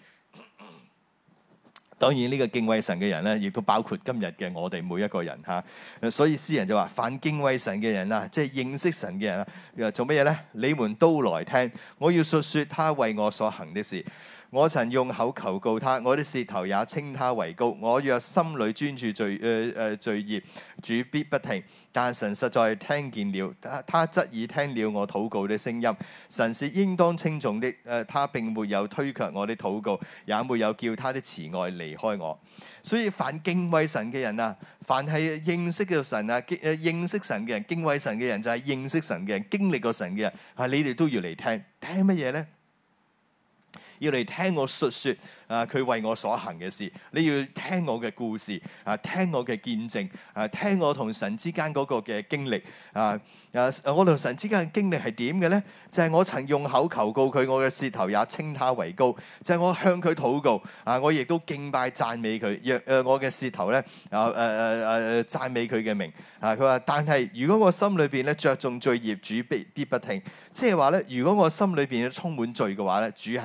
當然呢個敬畏神嘅人咧，亦都包括今日嘅我哋每一個人嚇、啊。所以詩人就話：凡敬畏神嘅人啊，即係認識神嘅人啊，做乜嘢咧？你們都來聽，我要述説他為我所行的事。我曾用口求告他，我的舌頭也稱他為高。我若心裏專注罪誒誒罪孽，主必不聽。但神實在聽見了，他他側耳聽了我禱告的聲音。神是應當稱頌的，誒、呃、他並沒有推卻我的禱告，也沒有叫他的慈愛離開我。所以凡敬畏神嘅人啊，凡係認識嘅神啊，誒認識神嘅人，敬畏神嘅人就係認識神嘅人，經歷過神嘅人，啊你哋都要嚟聽，聽乜嘢咧？要嚟聽我述説啊，佢為我所行嘅事。你要聽我嘅故事啊，聽我嘅見證啊，聽我同神之間嗰個嘅經歷啊啊！我同神之間嘅經歷係點嘅咧？就係、是、我曾用口求告佢，我嘅舌頭也稱他為高。就係、是、我向佢禱告啊，我亦都敬拜讚美佢。若誒我嘅舌頭咧啊誒誒誒讚美佢嘅名啊。佢話：但係如果我心裏邊咧着重罪孽，主必必不聽。即係話咧，如果我心裏邊充滿罪嘅話咧，主係唔聽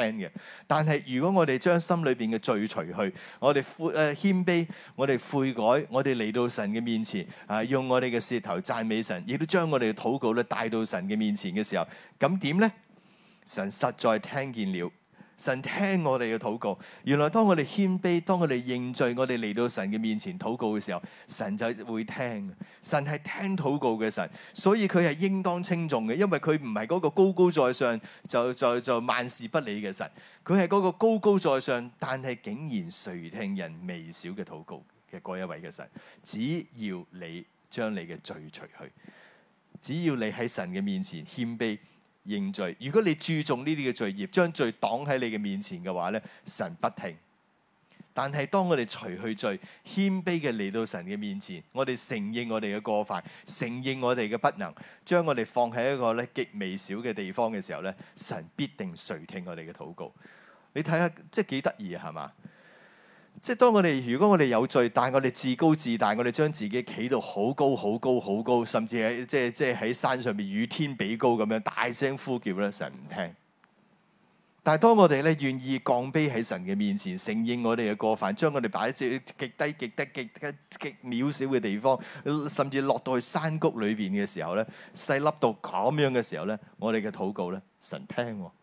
嘅。但係如果我哋將心裏邊嘅罪除去，我哋悔誒謙卑，我哋悔改，我哋嚟到神嘅面前啊，用我哋嘅舌頭讚美神，亦都將我哋嘅禱告咧帶到神嘅面前嘅時候，咁點咧？神實在聽見了。神聽我哋嘅禱告，原來當我哋謙卑，當我哋認罪，我哋嚟到神嘅面前禱告嘅時候，神就會聽。神係聽禱告嘅神，所以佢係應當稱頌嘅，因為佢唔係嗰個高高在上就就就萬事不理嘅神，佢係嗰個高高在上，但係竟然垂聽人微小嘅禱告嘅嗰一位嘅神。只要你將你嘅罪除去，只要你喺神嘅面前謙卑認罪，如果你注重呢啲嘅罪孽，將罪擋喺你嘅面前嘅話咧，神不聽。但係當我哋除去罪，謙卑嘅嚟到神嘅面前，我哋承認我哋嘅過犯，承認我哋嘅不能，將我哋放喺一個咧極微小嘅地方嘅時候咧，神必定垂聽我哋嘅禱告。你睇下，即係幾得意啊，係嘛？即係當我哋如果我哋有罪，但係我哋自高自大，我哋將自己企到好高好高好高，甚至喺即係即係喺山上邊與天比高咁樣大聲呼叫咧，神唔聽。但係當我哋咧願意降卑喺神嘅面前，承認我哋嘅過犯，將我哋擺喺極低極低極低極渺小嘅地方，甚至落到去山谷裏邊嘅時候咧，細粒到咁樣嘅時候咧，我哋嘅禱告咧，神聽喎。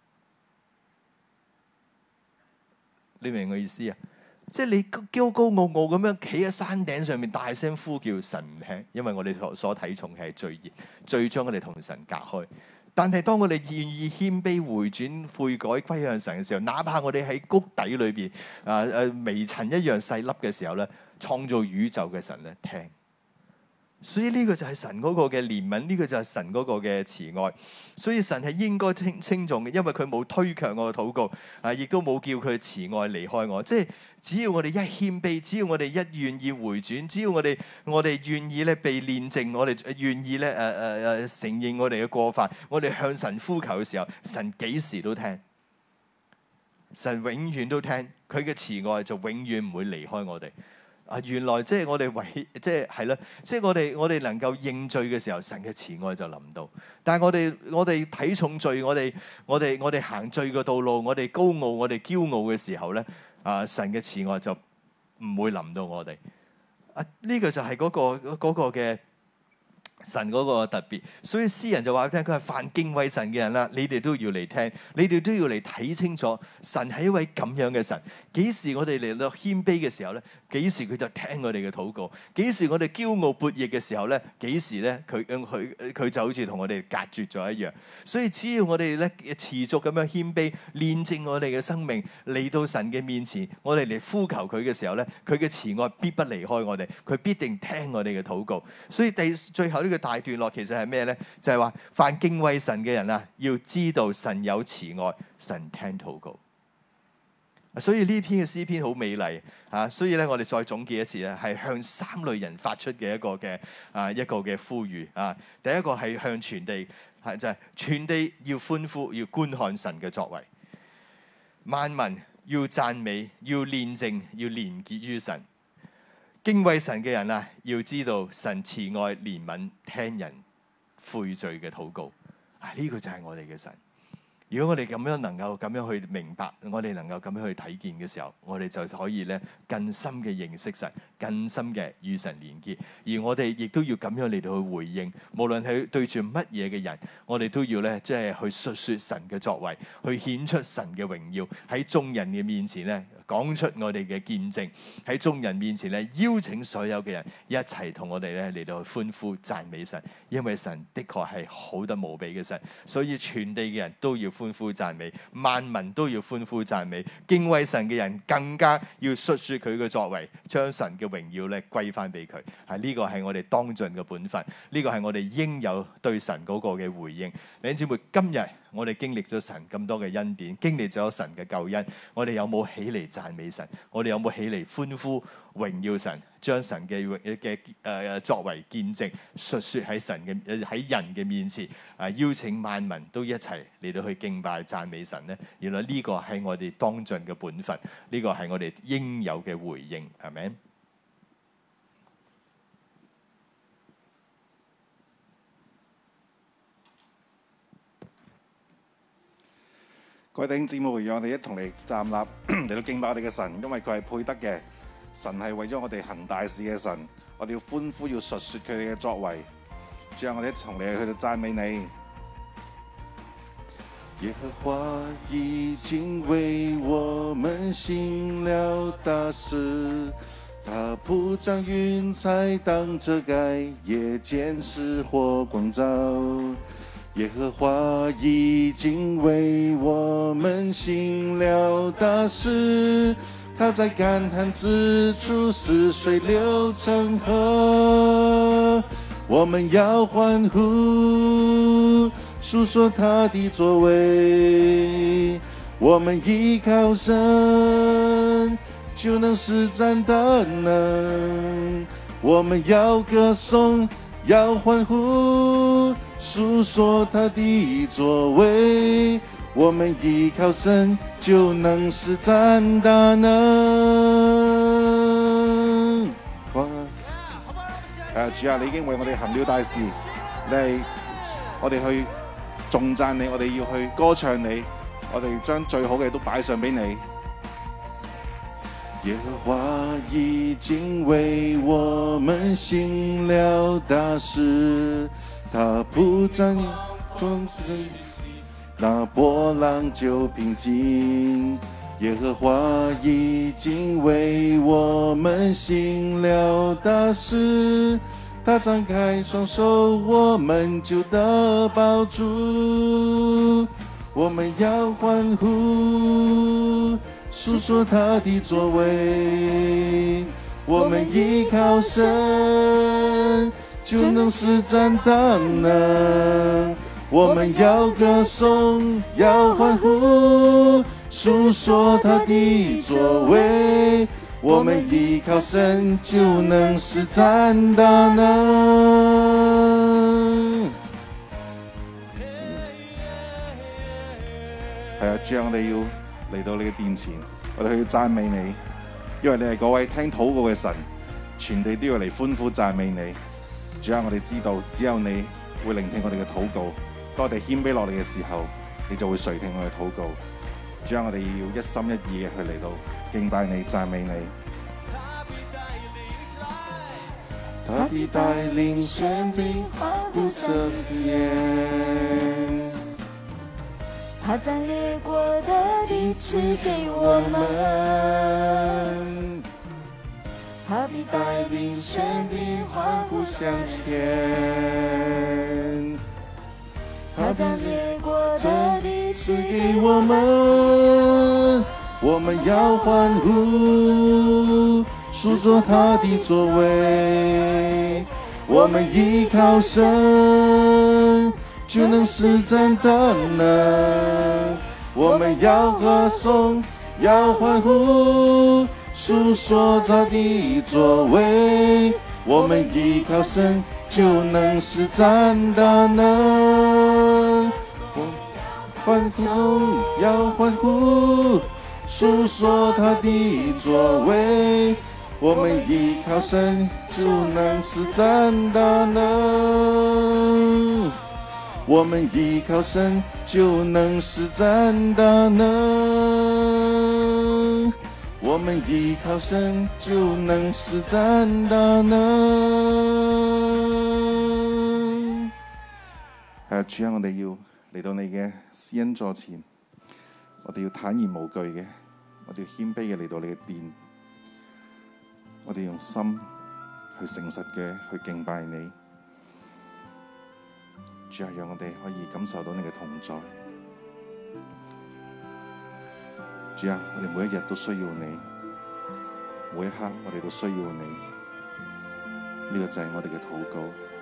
你明我意思啊？即係你高高傲傲咁樣企喺山頂上面大聲呼叫，神唔聽，因為我哋所所睇重係罪孽，罪將我哋同神隔開。但係當我哋願意謙卑回轉悔改歸向神嘅時候，哪怕我哋喺谷底裏邊啊誒微塵一樣細粒嘅時候咧，創造宇宙嘅神咧聽。所以呢個就係神嗰個嘅憐憫，呢個就係神嗰個嘅慈愛。所以神係應該稱稱頌嘅，因為佢冇推卻我嘅禱告，啊，亦都冇叫佢慈愛離開我。即係只要我哋一謙卑，只要我哋一願意回轉，只要我哋我哋願意咧被煉淨，我哋願意咧誒誒誒承認我哋嘅過犯，我哋向神呼求嘅時候，神幾時都聽，神永遠都聽，佢嘅慈愛就永遠唔會離開我哋。啊，原來即係我哋為即係係啦，即係我哋我哋能夠認罪嘅時候，神嘅慈愛就臨到。但係我哋我哋睇重罪，我哋我哋我哋行罪嘅道路，我哋高傲，我哋驕傲嘅時候咧，啊，神嘅慈愛就唔會臨到我哋。啊，呢個就係嗰個嗰個嘅神嗰個特別，所以詩人就話俾你聽，佢係凡敬畏神嘅人啦，你哋都要嚟聽，你哋都要嚟睇清楚，神係一位咁樣嘅神。幾時我哋嚟到謙卑嘅時候咧，幾時佢就聽我哋嘅禱告；幾時我哋驕傲悖逆嘅時候咧，幾時咧佢佢佢就好似同我哋隔絕咗一樣。所以只要我哋咧持續咁樣謙卑，煉淨我哋嘅生命，嚟到神嘅面前，我哋嚟呼求佢嘅時候咧，佢嘅慈愛必不離開我哋，佢必定聽我哋嘅禱告。所以第最後呢個大段落其實係咩咧？就係話凡敬畏神嘅人啊，要知道神有慈愛，神聽禱告。所以呢篇嘅詩篇好美麗啊！所以咧，我哋再總結一次咧，係向三類人發出嘅一個嘅啊一個嘅呼籲啊。第一個係向全地，係就係、是、全地要歡呼，要觀看神嘅作為。萬民要讚美，要煉淨，要連結於神。敬畏神嘅人啊，要知道神慈愛憐憫，聽人悔罪嘅禱告。啊，呢、這個就係我哋嘅神。如果我哋咁樣能夠咁樣去明白，我哋能夠咁樣去睇見嘅時候，我哋就可以咧更深嘅認識神，更深嘅與神連結。而我哋亦都要咁樣嚟到去回應，無論係對住乜嘢嘅人，我哋都要咧即係去述説神嘅作為，去顯出神嘅榮耀，喺眾人嘅面前咧講出我哋嘅見證，喺眾人面前咧邀請所有嘅人一齊同我哋咧嚟到去歡呼讚美神，因為神的確係好得無比嘅神，所以全地嘅人都要歡呼讚美，萬民都要歡呼讚美，敬畏神嘅人更加要述説佢嘅作為，將神嘅榮耀咧歸翻俾佢。係呢個係我哋當盡嘅本分，呢個係我哋應有對神嗰個嘅回應。弟兄姊妹，今日我哋經歷咗神咁多嘅恩典，經歷咗神嘅救恩，我哋有冇起嚟讚美神？我哋有冇起嚟歡呼榮耀神？將神嘅嘅誒作為見證，述説喺神嘅喺人嘅面前，啊邀請萬民都一齊嚟到去敬拜讚美神咧。原來呢個係我哋當盡嘅本分，呢個係我哋應有嘅回應，係咪？ 各各位弟兄姊妹，讓我哋一同嚟站立嚟到敬拜我哋嘅神，因為佢係配得嘅。神係為咗我哋行大事嘅神，我哋要歡呼，要述説佢哋嘅作為。主啊，我哋一同嚟去到讚美你。耶和華已經為我們行了大事，他鋪張雲彩當遮蓋，夜間是火光照。耶和華已經為我們行了大事，他在乾旱之處使水流成河。我們要歡呼，述說他的作為。我們依靠神，就能施展大能。我們要歌頌，要歡呼，述說他的作為，我們依靠神就能施展大能。哇！誒，主啊，你已經為我哋行了大事，你係我哋去頌讚你，我哋要去歌唱你，我哋將最好嘅都擺上俾你。耶和華已經為我們行了大事，他鋪張風水，那波浪就平靜。耶和華已經為我們行了大事，他張開雙手，我們就得抱住。我們要歡呼，述說他的作為。我們依靠神，就能施展大能。我們要歌頌，要歡呼，述說他的作為。我們依靠神，就能施展大能。係啊，主啊，我哋要嚟到你嘅殿前，我哋去讚美你，因為你係嗰位聽禱告嘅神，全地都要嚟歡呼讚美你。主啊，我哋知道只有你會聆聽我哋嘅禱告，當我哋謙卑落嚟嘅時候，你就會垂聽我哋禱告。主啊，我哋要一心一意嘅去嚟到敬拜你、讚美你。他必帶領全地不遮天， 他將列國的地賜給我們，他必帶領全地歡呼向前，他將列國的地賜給我們， 我們要歡呼，述說他的作為。我們依靠神，就能施展大能。我們要歌頌，要歡呼，述說他的作為。我們依靠神，就能施展大能。歡呼中要歡呼，述說他的作為。我們依靠神，就能施展大能。我們依靠神，就能施展大能。我們依靠神，就能施展大能。係啊，主啊，我哋要嚟到你嘅施恩座前，我哋要坦然無懼嘅，我哋要謙卑嘅嚟到你嘅殿。我哋用心去誠實嘅去敬拜你，主啊，讓我哋可以感受到你嘅同在。主啊，我哋每一日都需要你，每一刻我哋都需要你。呢個就係我哋嘅禱告。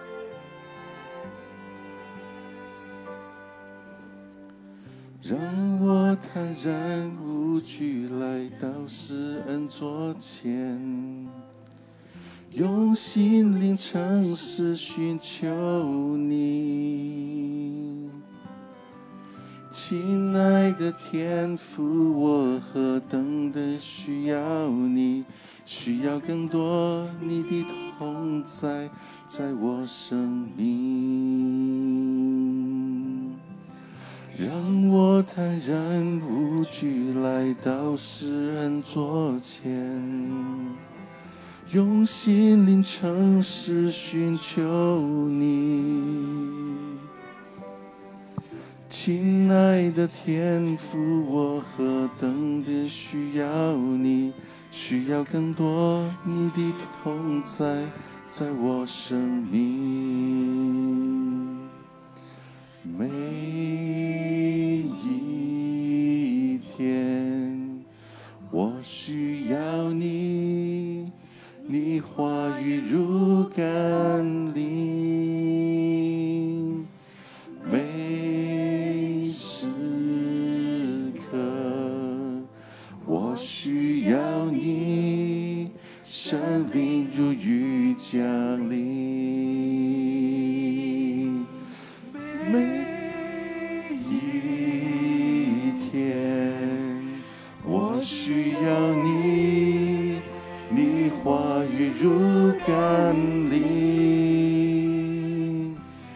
讓我坦然無懼來到施恩座前，用心靈誠實尋求你。親愛的天父，我何等的需要你，需要更多你的同在在我生命。讓我我坦然无惧来到世人座前，用心灵诚实寻求你。亲爱的天父，我何等的需要你，需要更多你的同在在我生命。每一天我需要你，你话语如甘霖，每时刻我需要你，生命如雨降临。每一天我需要你，你话语如甘霖，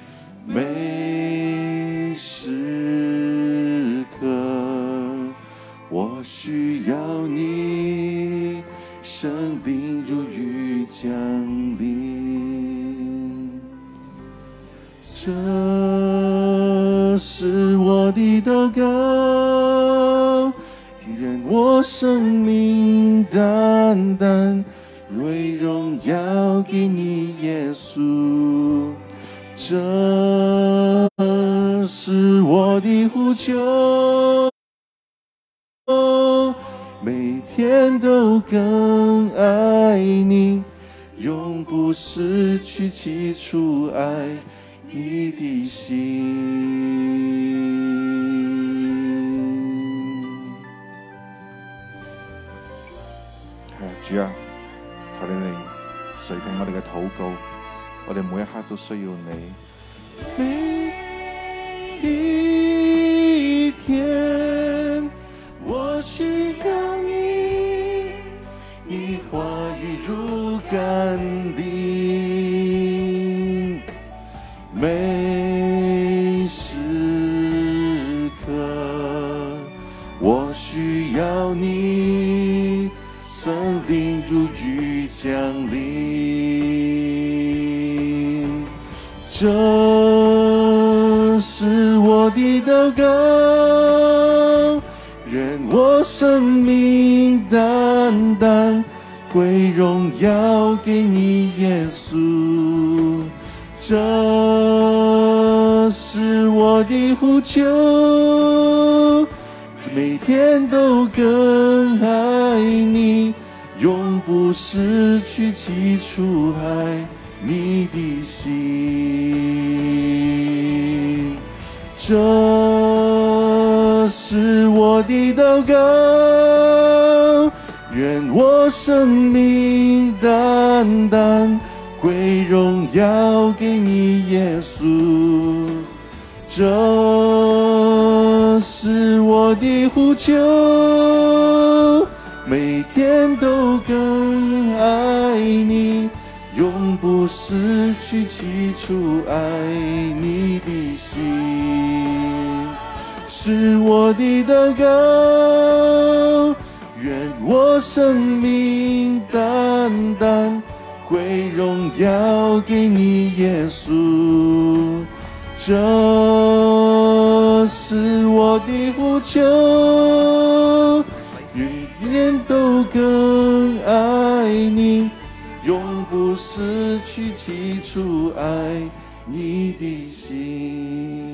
每时刻我需要你，生命如雨降临。这是我的祷告，愿我生命单单归荣耀给你，耶稣。这是我的呼求，每天都更爱你，永不失去起初爱你的心。主啊，求你嚟垂聽我哋嘅禱告，我哋每一刻都需要你。每一天我需要你，你话语如甘霖，每时刻我需要你，生命如雨降临。这是我的祷告，愿我生命单单归荣耀给你，耶稣。这是我的呼求，每天都更爱你，永不失去起初爱你的心。这是我的祷告，愿我生命单单归荣耀给你，耶稣。这是我的呼求，每天都更爱你，永不失去起初爱你的心。是我的祷告，愿我生命单单归荣耀给你，耶稣。这是我的呼求，每天都更爱你，永不失去起初爱你的心。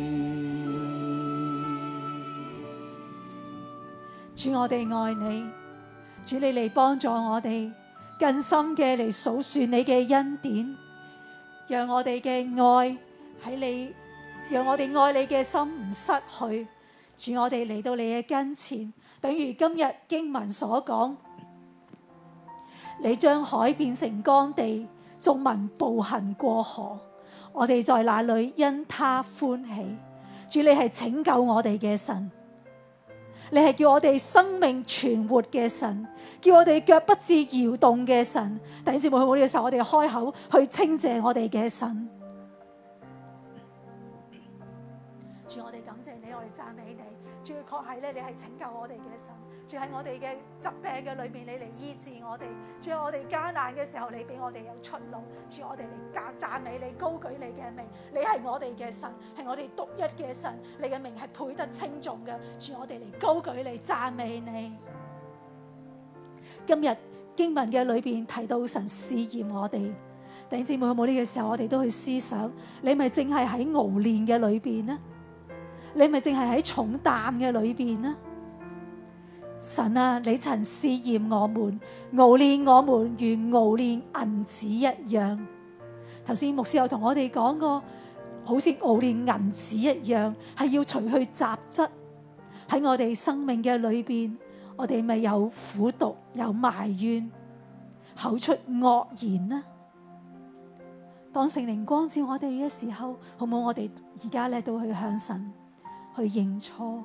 主，我哋愛你，主你嚟幫助我哋更深嘅嚟數算你嘅恩典，讓我哋嘅愛喺你，讓我哋愛你嘅心唔失去。主，我哋嚟到你嘅跟前，等於今日經文所講，你將海變成乾地，眾民步行過河，我哋在那裏因他歡喜。主，你係拯救我哋嘅神，你係叫我哋生命存活嘅神，叫我哋腳不致搖動嘅神。弟兄姊妹，喺呢個時候，我哋開口去稱謝我哋嘅神。 主，我哋感謝你，我哋讚美你。主，確係咧，你係拯救我哋嘅神。主，喺我哋嘅疾病嘅裏面，你嚟醫治我哋。主，我哋艱難嘅時候，你俾我哋有出路。主，我哋嚟讚讚美你，高舉你嘅名。你係我哋嘅神，係我哋獨一嘅神。你嘅名係配得稱頌嘅。主，我哋嚟高舉你，讚美你。今日經文嘅裏邊提到神試驗我哋，弟兄姊妹，有冇呢個時候我哋都去思想，你咪淨係喺熬煉嘅裏邊呢？你咪淨係喺重擔嘅裏邊呢？神啊，你曾試驗我們，熬煉我們如熬煉銀子一樣。頭先牧師有同我哋講過，好似熬煉銀子一樣，係要除去雜質。喺我哋生命嘅裏邊，我哋咪有苦毒，有埋怨，口出惡言呢？當聖靈光照我哋嘅時候，好唔好我哋而家咧都去向神去認錯？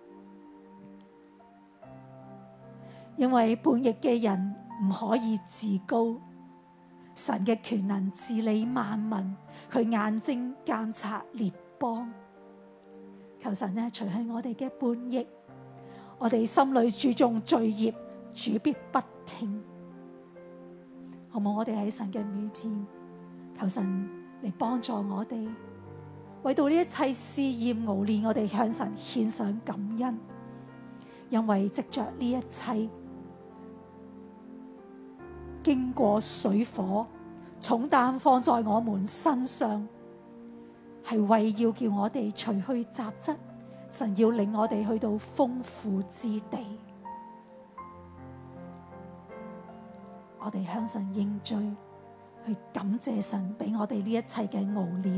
因為叛逆嘅人唔可以自高，神嘅權能治理萬民，佢眼睛監察列邦。求神呢除去我哋嘅叛逆，我哋心裏注重罪孽，主必不聽。好唔好我哋喺神嘅面前，求神嚟幫助我哋，為到呢一切試驗熬煉，我哋向神獻上感恩，因為藉着呢一切經過水火，重擔放在我們身上，係為要叫我哋除去雜質。神要領我哋去到豐富之地，我哋向神認罪，去感謝神俾我哋呢一切嘅熬煉。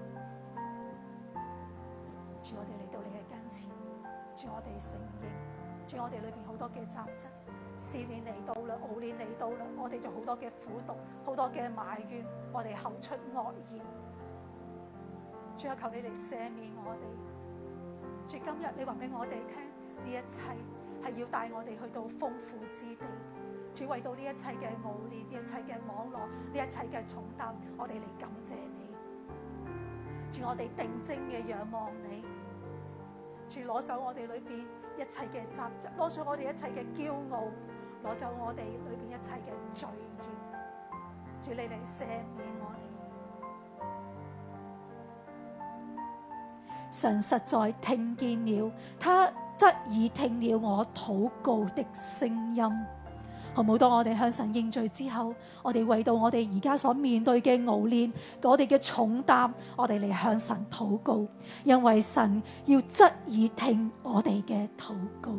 主，我哋嚟到你嘅跟前，主，我哋承認，主，我哋裏邊好多嘅雜質，試煉嚟到啦，熬煉嚟到啦，我哋就好多嘅苦毒，好多嘅埋怨，我哋口出惡言。主啊，求你嚟赦免我哋。主，今日你話俾我哋聽，呢一切係要帶我哋去到豐富之地。主，為到呢一切嘅熬煉，呢一切嘅網絡，呢一切嘅重擔，我哋嚟感謝你。主，我哋定睛嘅仰望你。主，攞走我哋裏邊一切嘅雜質，攞走我哋一切嘅驕傲，攞走我哋裏邊一切嘅罪孽。主，你嚟赦免我哋。神實在聽見了，他側耳聽了我禱告的聲音。好唔好？當我哋向神認罪之後，我哋為到我哋而家所面對嘅熬煉，我哋嘅重擔，我哋嚟向神禱告，因為神要側耳聽我哋嘅禱告。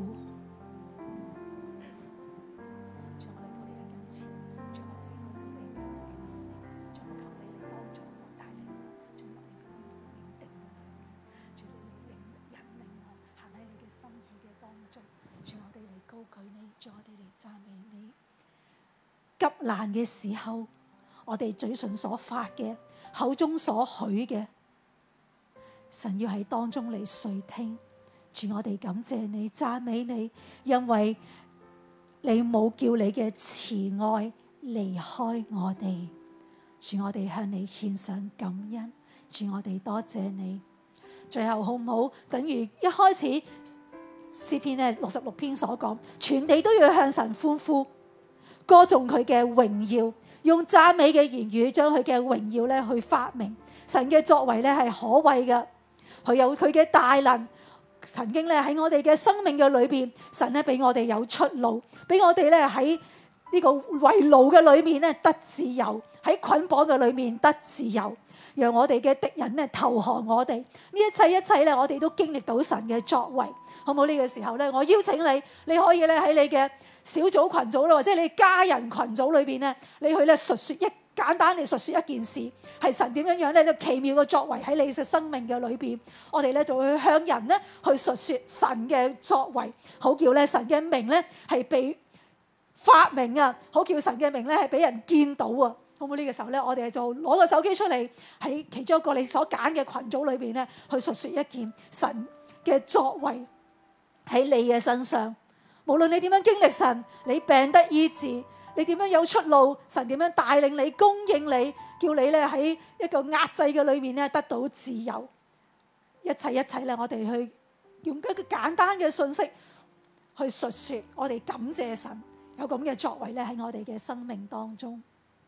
主，我哋嚟讚美你。急難嘅時候，我哋嘴唇所發嘅，口中所許嘅，神要喺當中嚟垂聽。主，我哋感謝你，讚美你，因為你冇叫你嘅慈愛離開我哋。主，我哋向你獻上感恩。主，我哋多謝你。最後好唔好？等於一開始詩篇咧六十六篇所講，全地都要向神歡呼，歌頌佢嘅榮耀，用讚美嘅言語將佢嘅榮耀咧去發明。神嘅作為咧係可畏嘅，佢有佢嘅大能。曾經咧喺我哋嘅生命嘅裏邊，神咧俾我哋有出路，俾我哋咧喺呢個圍牢嘅裏面咧得自由，喺捆綁嘅裏面得自由，讓我哋嘅敵人咧投降我哋。呢一切一切咧，我哋都經歷到神嘅作為。好唔好？呢個時候咧，我邀請你，你可以咧喺你嘅小組群組啦，或者你家人群組裏邊咧，你去咧述說一簡單地述說一件事，係神點樣樣咧，呢奇妙嘅作為喺你嘅生命嘅裏邊，我哋咧就會向人咧去述說神嘅作為，好叫咧神嘅名咧係被發明啊，好叫神嘅名咧係俾人見到啊。好唔好？呢個時候咧，我哋就攞個手機出嚟，喺其中一個你所揀嘅群組裏邊咧，去述說一件神嘅作為喺你嘅身上。無論你點樣經歷神，你病得醫治，你點樣有出路，神點樣帶領你、供應你，叫你咧喺一個壓制嘅裏面咧得到自由。 一切一切咧，我哋去用一個簡單嘅信息去述說，我哋感謝神有咁嘅作為咧喺我哋嘅生命當中。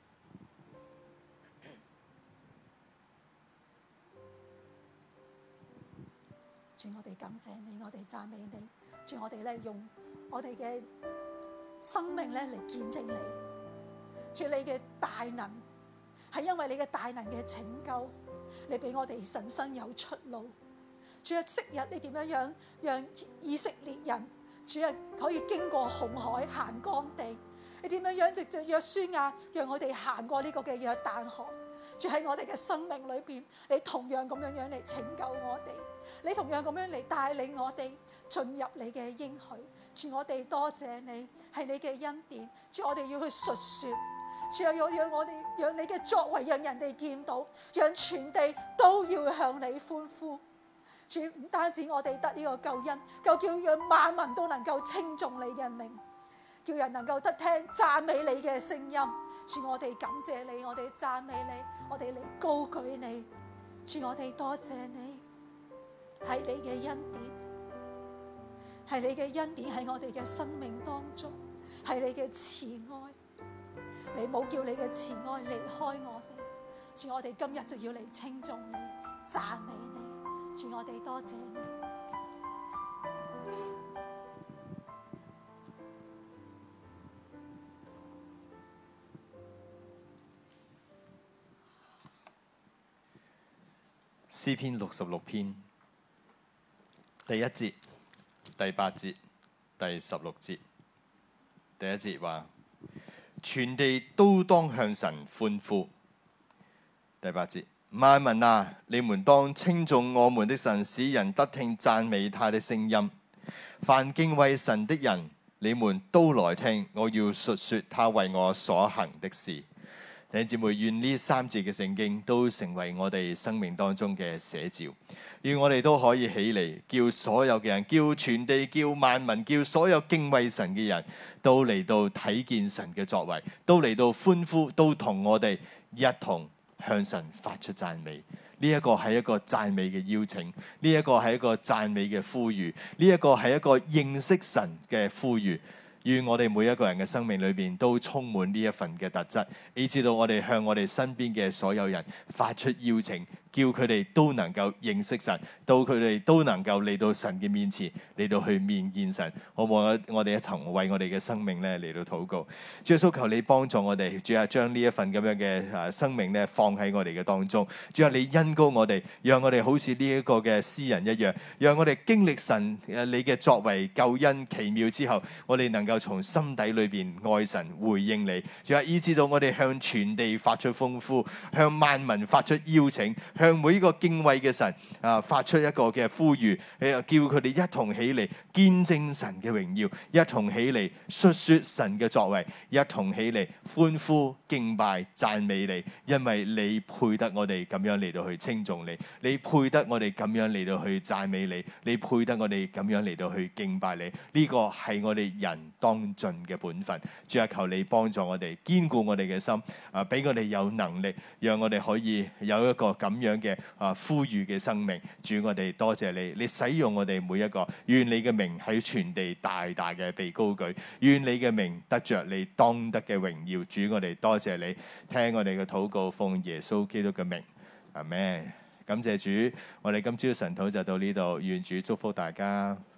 主，我哋感謝你，我哋讚美你。主，我哋咧用我哋嘅生命咧嚟見證你。主，你嘅大能係因為你嘅大能嘅拯救，你俾我哋人生有出路。主啊，昔日你點樣樣讓以色列人主啊可以經過紅海行乾地？你點樣樣藉着約書亞讓我哋行過呢個嘅約旦河？主，喺我哋嘅生命裏邊，你同樣咁樣樣嚟拯救我哋，你同樣咁樣嚟帶領我哋進入你嘅應許。主，我哋多謝你，係你嘅恩典。主，我哋要去述說。主啊，要讓我哋讓你嘅作為讓人哋見到，讓全地都要向你歡呼。主，唔單止我哋得呢個救恩，就叫讓萬民都能夠稱頌你嘅名，叫人能夠得聽讚美你嘅聲音。主，我哋感謝你，我哋讚美你，我哋嚟高舉你。主，我哋多謝你，係你嘅恩典，係你嘅恩典喺我哋嘅生命當中，係你嘅慈愛，你冇叫你嘅慈愛離開我哋。主，我哋今日就要嚟稱頌你，讚美你。主，我哋多謝你。 詩篇六十六篇第一節、第八節、第十六節。第一節話：全地都當向神歡呼。第八節：萬民啊，你們當稱頌我們的神，使人得聽讚美他的聲音。凡敬畏神的人，你們都來聽，我要述說他為我所行的事。弟兄姊妹，願呢三節嘅聖經都成為我哋生命當中嘅寫照，願我哋都可以起嚟，叫所有嘅人，叫全地，叫萬民，叫所有敬畏神嘅人都嚟到睇見神嘅作為，都嚟到歡呼，都同我哋一同向神發出讚美。呢一個係一個讚美嘅邀請，呢一個係一個讚美嘅呼籲，呢一個係一個認識神嘅呼籲。願我哋每一個人嘅生命裏邊都充滿呢一份嘅特質，以至到我哋向我哋身邊嘅所有人發出邀請，叫佢哋都能夠認識神，到佢哋都能夠嚟到神嘅面前，嚟到去面見神。好唔好？我哋一同為我哋嘅生命咧嚟到禱告。主耶穌，求你幫助我哋，主啊，將呢一份咁樣嘅誒生命咧放喺我哋嘅當中。主啊，你恩膏我哋，讓我哋好似呢一個嘅詩人一樣，讓我哋經歷神誒你嘅作為救恩奇妙之後，我哋能夠從心底裏邊愛神回應你。主啊，以至到我哋向全地發出歡呼，向萬民發出邀請，向每一個敬畏嘅神啊發出一個嘅呼籲，叫佢哋一同起嚟見證神嘅榮耀，一同起嚟述說神嘅作為，一同起嚟歡呼敬拜讚美你，因為你配得我哋咁樣嚟到去稱頌你，你配得我哋咁樣嚟到去讚美你，你配得我哋咁樣嚟到去敬拜你。呢個係我哋人當盡嘅本分。主啊，求你幫助我哋，堅固我哋嘅心，啊，俾我哋有能力，讓我哋可以有一個咁樣嘅啊呼籲嘅生命。主，我哋多謝你，你使用我哋每一個，願你嘅名喺全地大大嘅被高舉，願你嘅名得着你當得嘅榮耀。主，我哋多謝你，聽我哋嘅禱告，奉耶穌基督嘅名，阿們。感謝主，我哋今朝晨禱就到呢度，願主祝福大家。